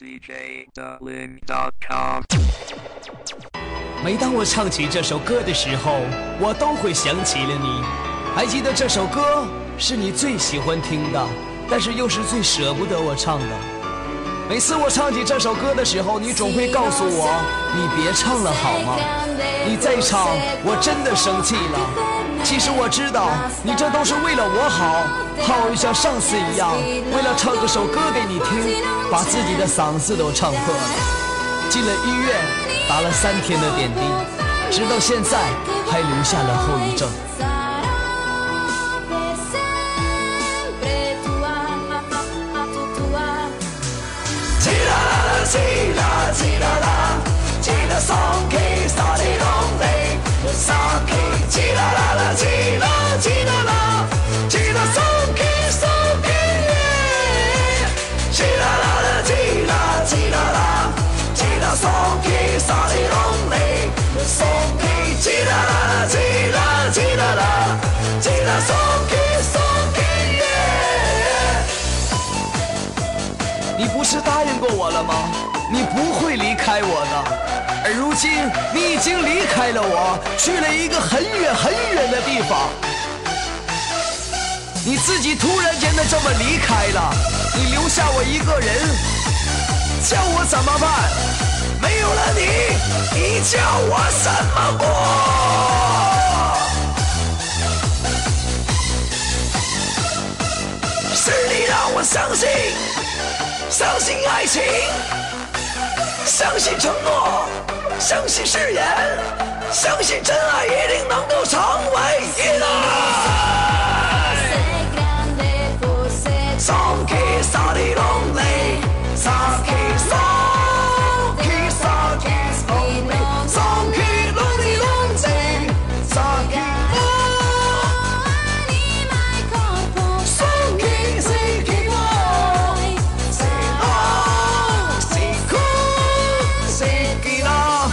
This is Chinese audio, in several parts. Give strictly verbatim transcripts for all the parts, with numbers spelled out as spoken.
D J Dublin dot com。 每当我唱起这首歌的时候，我都会想起了你。还记得这首歌是你最喜欢听的，但是又是最舍不得我唱的。每次我唱起这首歌的时候，你总会告诉我，你别唱了好吗？你再唱，我真的生气了。其实我知道，你这都是为了我好，好像上次一样，为了唱这首歌给你听，把自己的嗓子都唱破了。进了医院，打了三天的点滴，直到现在还留下了后遗症。你不是答应过我了吗？你不会离开我的。而如今你已经离开了我，去了一个很远很远的地方。你自己突然间的这么离开了，你留下我一个人，叫我怎么办？没有了你，你叫我怎么过？是你让我相信，相信爱情，相信承诺，相信誓言，相信真爱一定能够成为一代。Son che sta di lonely, sa che son che sa che lonely, son che lonely lonely, sa che son che sei che vuoi, sei no, sei con, sei che no.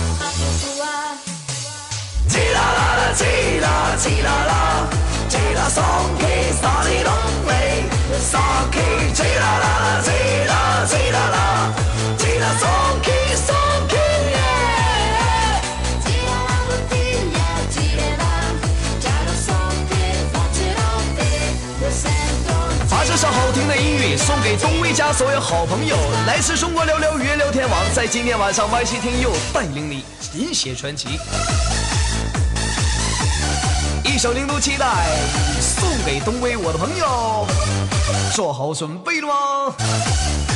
Gira la la, gira, gira la, gira son che sta di lonely. Son che gira la gira gira la gira son che son che yeah gira la bottiglia gira gira son che faccio te lo sento。 把这首好听的音乐送给东威家所有好朋友。来自中国聊聊语言聊天网，在今天晚上 Y C 听友带领你饮血传奇。一首零度期待送给东威我的朋友，做好准备了吗？